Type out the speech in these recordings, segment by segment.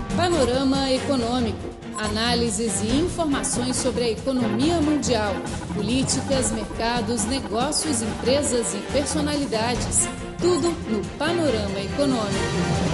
Panorama Econômico. Análises e informações sobre a economia mundial, políticas, mercados, negócios, empresas e personalidades. Tudo no Panorama Econômico.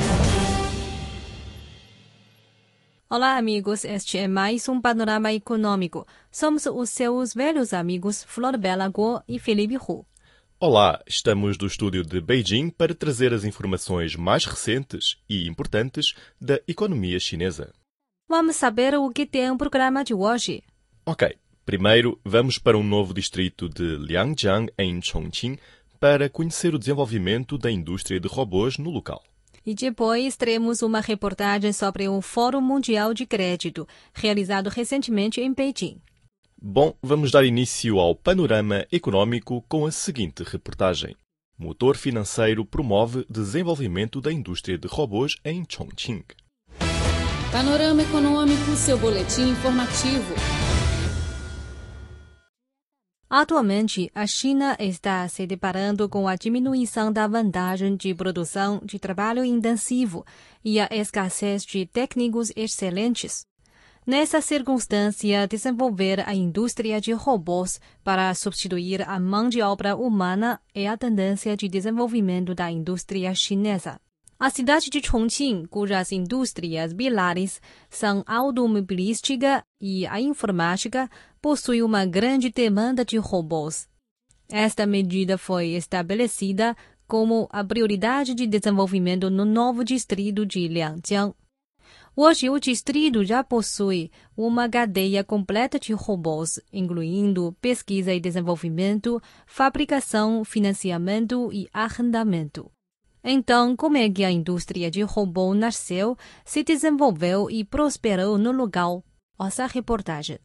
Olá, amigos. Este é mais um Panorama Econômico. Somos os seus velhos amigos Flor Bela Guo e Felipe Hu. Olá, estamos do estúdio de Beijing para trazer as informações mais recentes e importantes da economia chinesa. Vamos saber o que tem o programa de hoje. Ok, primeiro vamos para um novo distrito de Liangjiang, em Chongqing, para conhecer o desenvolvimento da indústria de robôs no local. E depois teremos uma reportagem sobre o Fórum Mundial de Crédito, realizado recentemente em Beijing. Bom, vamos dar início ao panorama econômico com a seguinte reportagem. Motor financeiro promove desenvolvimento da indústria de robôs em Chongqing. Panorama Econômico, seu boletim informativo. Atualmente, a China está se deparando com a diminuição da vantagem de produção de trabalho intensivo e a escassez de técnicos excelentes. Nessa circunstância, desenvolver a indústria de robôs para substituir a mão de obra humana é a tendência de desenvolvimento da indústria chinesa. A cidade de Chongqing, cujas indústrias pilares são a automobilística e a informática, possui uma grande demanda de robôs. Esta medida foi estabelecida como a prioridade de desenvolvimento no novo distrito de Liangjiang. Hoje, o distrito já possui uma cadeia completa de robôs, incluindo pesquisa e desenvolvimento, fabricação, financiamento e arrendamento. Então, como é que a indústria de robô nasceu, se desenvolveu e prosperou no local? Ouça a reportagem.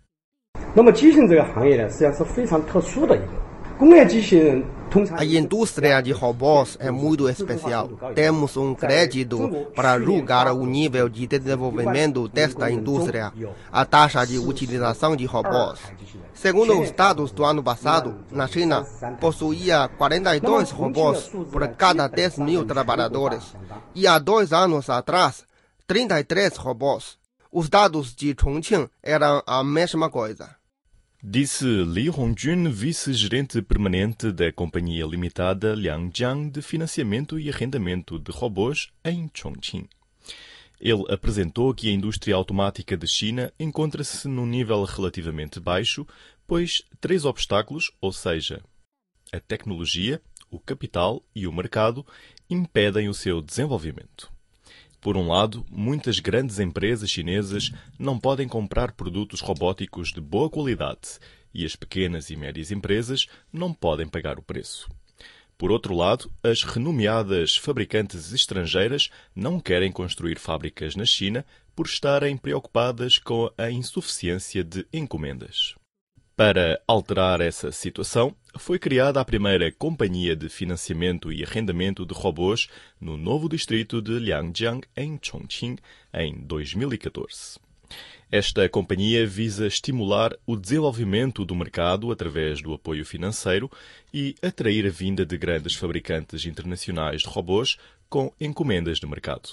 A indústria de robôs é muito especial. Temos um crédito para julgar o nível de desenvolvimento desta indústria, a taxa de utilização de robôs. Segundo os dados do ano passado, na China, possuía 42 robôs por cada 10 mil trabalhadores. E há 2 anos atrás, 33 robôs. Os dados de Chongqing eram a mesma coisa. Disse Li Hongjun, vice-gerente permanente da Companhia Limitada Liangjiang de Financiamento e Arrendamento de Robôs em Chongqing. Ele apresentou que a indústria automática de China encontra-se num nível relativamente baixo, pois 3 obstáculos, ou seja, a tecnologia, o capital e o mercado, impedem o seu desenvolvimento. Por um lado, muitas grandes empresas chinesas não podem comprar produtos robóticos de boa qualidade e as pequenas e médias empresas não podem pagar o preço. Por outro lado, as renomeadas fabricantes estrangeiras não querem construir fábricas na China por estarem preocupadas com a insuficiência de encomendas. Para alterar essa situação, foi criada a primeira companhia de financiamento e arrendamento de robôs no novo distrito de Liangjiang, em Chongqing, em 2014. Esta companhia visa estimular o desenvolvimento do mercado através do apoio financeiro e atrair a vinda de grandes fabricantes internacionais de robôs com encomendas de mercado.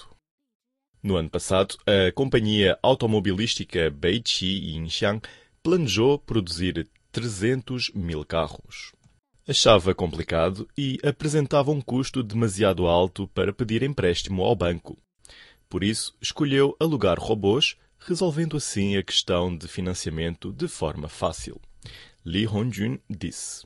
No ano passado, a companhia automobilística Beiqi Yinxiang planejou produzir 300 mil carros. Achava complicado e apresentava um custo demasiado alto para pedir empréstimo ao banco. Por isso, escolheu alugar robôs, resolvendo assim a questão de financiamento de forma fácil. Li Hongjun disse.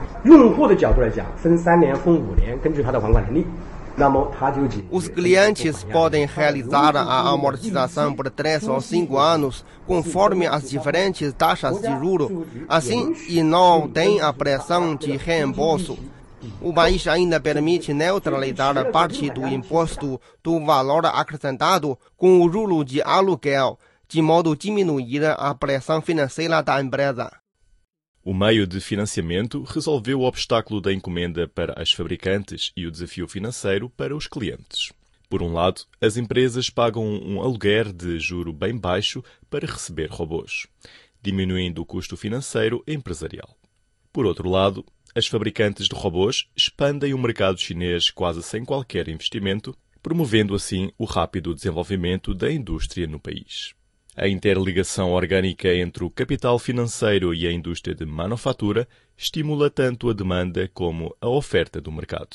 Os clientes podem realizar a amortização por 3 ou 5 anos, conforme as diferentes taxas de juros. Assim, e não tem a pressão de reembolso. O país ainda permite neutralizar parte do imposto do valor acrescentado com o juro de aluguel, de modo a diminuir a pressão financeira da empresa. O meio de financiamento resolveu o obstáculo da encomenda para as fabricantes e o desafio financeiro para os clientes. Por um lado, as empresas pagam um aluguer de juro bem baixo para receber robôs, diminuindo o custo financeiro empresarial. Por outro lado, as fabricantes de robôs expandem o mercado chinês quase sem qualquer investimento, promovendo assim o rápido desenvolvimento da indústria no país. A interligação orgânica entre o capital financeiro e a indústria de manufatura estimula tanto a demanda como a oferta do mercado.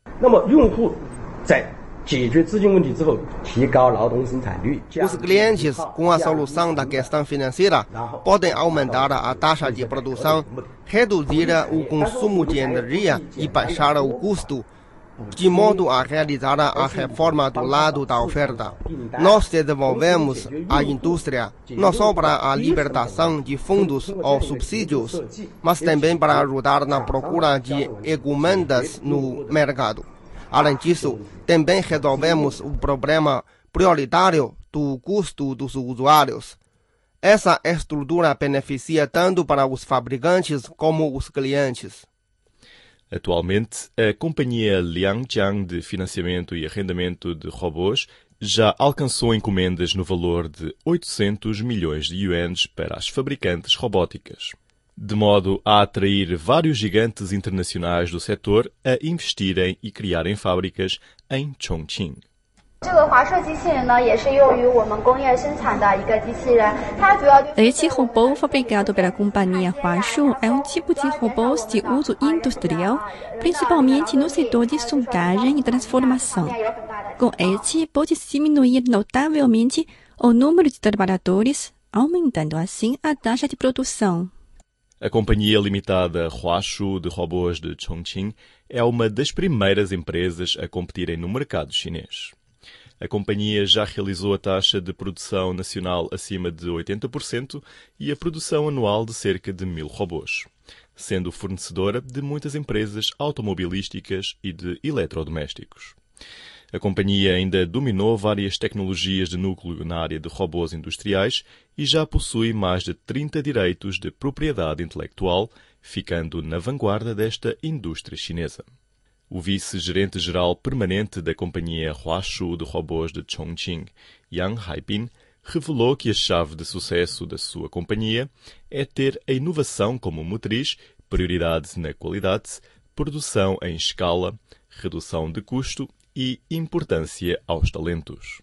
Os clientes, com a solução da questão financeira, podem aumentar a taxa de produção, reduzir o consumo de energia e baixar o custo, de modo a realizar a reforma do lado da oferta. Nós desenvolvemos a indústria não só para a libertação de fundos ou subsídios, mas também para ajudar na procura de encomendas no mercado. Além disso, também resolvemos o problema prioritário do custo dos usuários. Essa estrutura beneficia tanto para os fabricantes como os clientes. Atualmente, a companhia Liangjiang de financiamento e arrendamento de robôs já alcançou encomendas no valor de 800 milhões de yuans para as fabricantes robóticas, de modo a atrair vários gigantes internacionais do setor a investirem e criarem fábricas em Chongqing. Este robô fabricado pela companhia Huashu é um tipo de robôs de uso industrial, principalmente no setor de soldagem e transformação. Com este, pode diminuir notavelmente o número de trabalhadores, aumentando assim a taxa de produção. A companhia limitada Huashu de robôs de Chongqing é uma das primeiras empresas a competirem no mercado chinês. A companhia já realizou a taxa de produção nacional acima de 80% e a produção anual de cerca de 1.000 robôs, sendo fornecedora de muitas empresas automobilísticas e de eletrodomésticos. A companhia ainda dominou várias tecnologias de núcleo na área de robôs industriais e já possui mais de 30 direitos de propriedade intelectual, ficando na vanguarda desta indústria chinesa. O vice-gerente-geral permanente da companhia Huashu de robôs de Chongqing, Yang Haibin, revelou que a chave de sucesso da sua companhia é ter a inovação como motriz, prioridade na qualidade, produção em escala, redução de custo e importância aos talentos.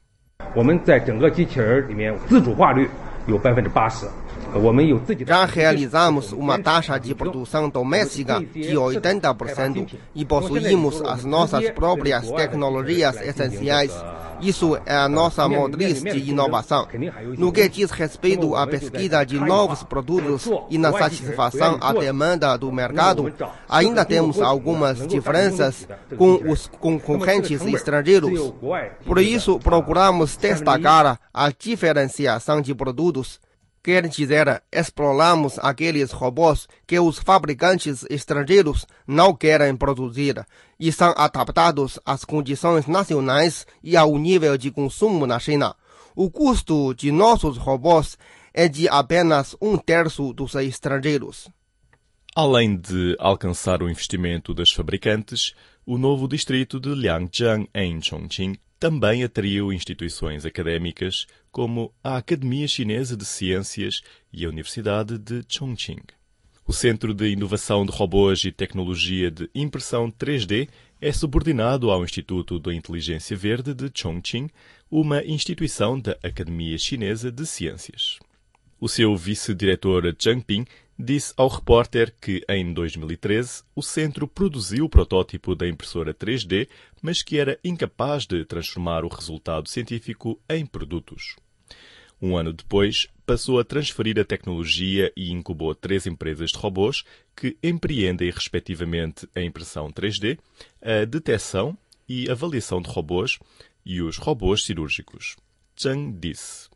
Já realizamos uma taxa de produção doméstica de 80% e possuímos as nossas próprias tecnologias essenciais. Isso é a nossa motriz de inovação. No que diz respeito à pesquisa de novos produtos e na satisfação à demanda do mercado, ainda temos algumas diferenças com os concorrentes estrangeiros. Por isso, procuramos destacar a diferenciação de produtos. Quer dizer, exploramos aqueles robôs que os fabricantes estrangeiros não querem produzir e são adaptados às condições nacionais e ao nível de consumo na China. O custo de nossos robôs é de apenas 1/3 dos estrangeiros. Além de alcançar o investimento das fabricantes, o novo distrito de Liangjiang, em Chongqing, também atraiu instituições académicas como a Academia Chinesa de Ciências e a Universidade de Chongqing. O Centro de Inovação de Robôs e Tecnologia de Impressão 3D é subordinado ao Instituto da Inteligência Verde de Chongqing, uma instituição da Academia Chinesa de Ciências. O seu vice-diretor Zhang Ping disse ao repórter que, em 2013, o centro produziu o protótipo da impressora 3D, mas que era incapaz de transformar o resultado científico em produtos. Um ano depois, passou a transferir a tecnologia e incubou 3 empresas de robôs que empreendem, respectivamente, a impressão 3D, a detecção e avaliação de robôs e os robôs cirúrgicos. Zhang disse: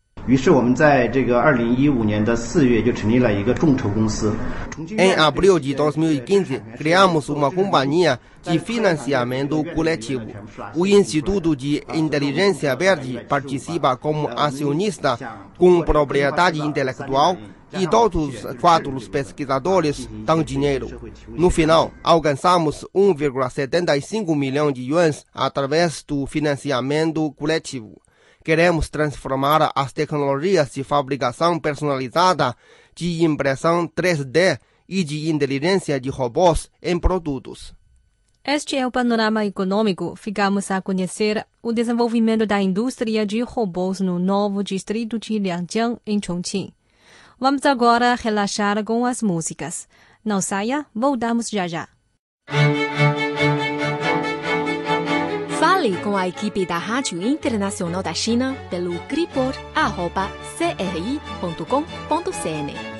Em abril de 2015, criamos uma companhia de financiamento coletivo. O Instituto de Inteligência Verde participa como acionista com propriedade intelectual e todos os 4 pesquisadores dão dinheiro. No final, alcançamos 1,75 milhão de yuans através do financiamento coletivo. Queremos transformar as tecnologias de fabricação personalizada, de impressão 3D e de inteligência de robôs em produtos. Este é o panorama econômico. Ficamos a conhecer o desenvolvimento da indústria de robôs no novo distrito de Liangjiang, em Chongqing. Vamos agora relaxar com as músicas. Não saia, voltamos já já. Fale com a equipe da Rádio Internacional da China pelo cripor@cri.com.cn.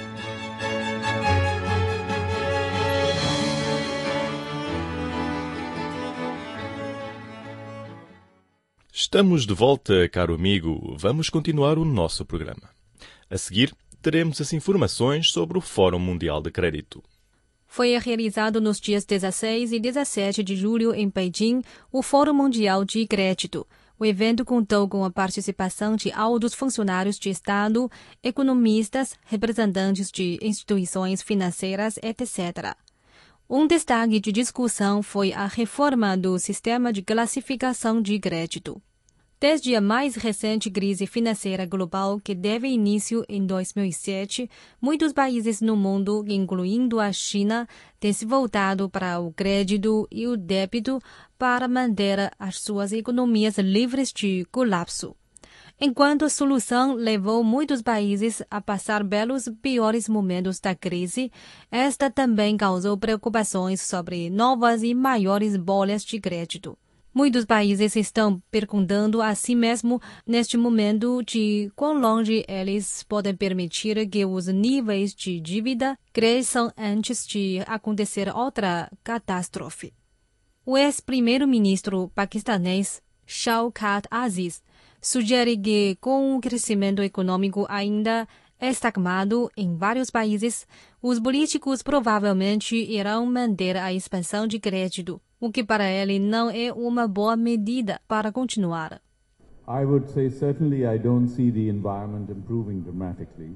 Estamos de volta, caro amigo. Vamos continuar o nosso programa. A seguir, teremos as informações sobre o Fórum Mundial de Crédito. Foi realizado nos dias 16 e 17 de julho em Beijing o Fórum Mundial de Crédito. O evento contou com a participação de altos funcionários de Estado, economistas, representantes de instituições financeiras, etc. Um destaque de discussão foi a reforma do sistema de classificação de crédito. Desde a mais recente crise financeira global, que teve início em 2007, muitos países no mundo, incluindo a China, têm se voltado para o crédito e o débito para manter as suas economias livres de colapso. Enquanto a solução levou muitos países a passar pelos piores momentos da crise, esta também causou preocupações sobre novas e maiores bolhas de crédito. Muitos países estão perguntando a si mesmo neste momento de quão longe eles podem permitir que os níveis de dívida cresçam antes de acontecer outra catástrofe. O ex-primeiro-ministro paquistanês Shawkat Aziz sugere que, com o crescimento econômico ainda estagnado em vários países, os políticos provavelmente irão manter a expansão de crédito, o que para ele não é uma boa medida para continuar. I would say certainly I don't see the environment improving dramatically.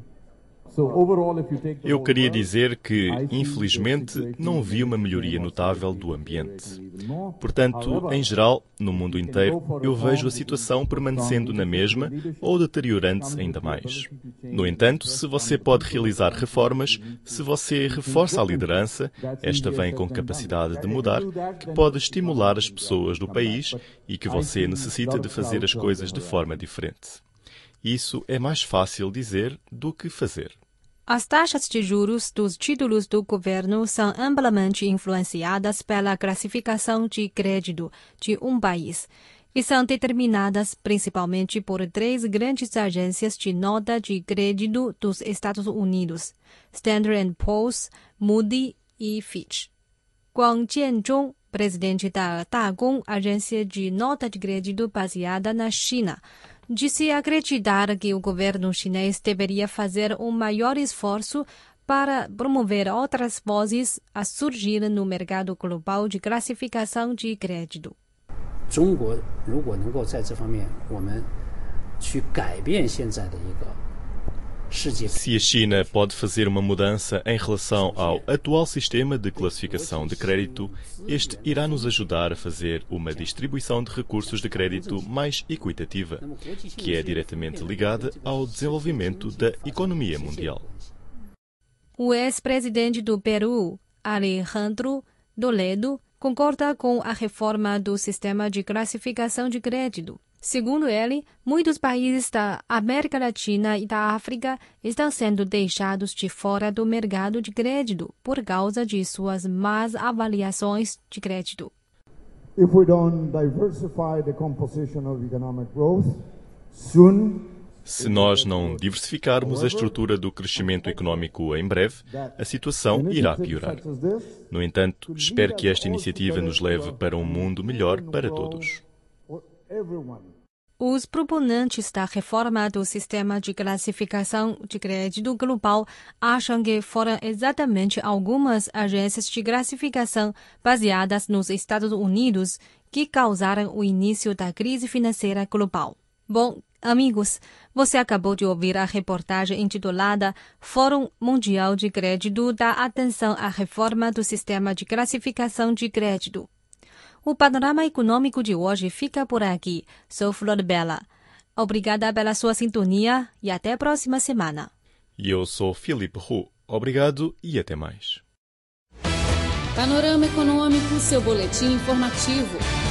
Eu queria dizer que, infelizmente, não vi uma melhoria notável do ambiente. Portanto, em geral, no mundo inteiro, eu vejo a situação permanecendo na mesma ou deteriorando-se ainda mais. No entanto, se você pode realizar reformas, se você reforça a liderança, esta vem com capacidade de mudar, que pode estimular as pessoas do país e que você necessita de fazer as coisas de forma diferente. Isso é mais fácil dizer do que fazer. As taxas de juros dos títulos do governo são amplamente influenciadas pela classificação de crédito de um país e são determinadas principalmente por 3 grandes agências de nota de crédito dos Estados Unidos, Standard & Poor's, Moody e Fitch. Guang Jianzhong, presidente da Dagong, agência de nota de crédito baseada na China, disse acreditar que o governo chinês deveria fazer um maior esforço para promover outras vozes a surgir no mercado global de classificação de crédito. Se a China pode fazer uma mudança em relação ao atual sistema de classificação de crédito, este irá nos ajudar a fazer uma distribuição de recursos de crédito mais equitativa, que é diretamente ligada ao desenvolvimento da economia mundial. O ex-presidente do Peru, Alejandro Toledo, concorda com a reforma do sistema de classificação de crédito. Segundo ele, muitos países da América Latina e da África estão sendo deixados de fora do mercado de crédito por causa de suas más avaliações de crédito. If we don't diversify the composition of economic growth, soon Se nós não diversificarmos a estrutura do crescimento econômico em breve, a situação irá piorar. No entanto, espero que esta iniciativa nos leve para um mundo melhor para todos. Os proponentes da reforma do sistema de classificação de crédito global acham que foram exatamente algumas agências de classificação baseadas nos Estados Unidos que causaram o início da crise financeira global. Bom, amigos, você acabou de ouvir a reportagem intitulada Fórum Mundial de Crédito dá atenção à reforma do sistema de classificação de crédito. O panorama econômico de hoje fica por aqui. Sou Flor Bela. Obrigada pela sua sintonia e até a próxima semana. E eu sou Filipe Hu. Obrigado e até mais. Panorama Econômico, seu boletim informativo.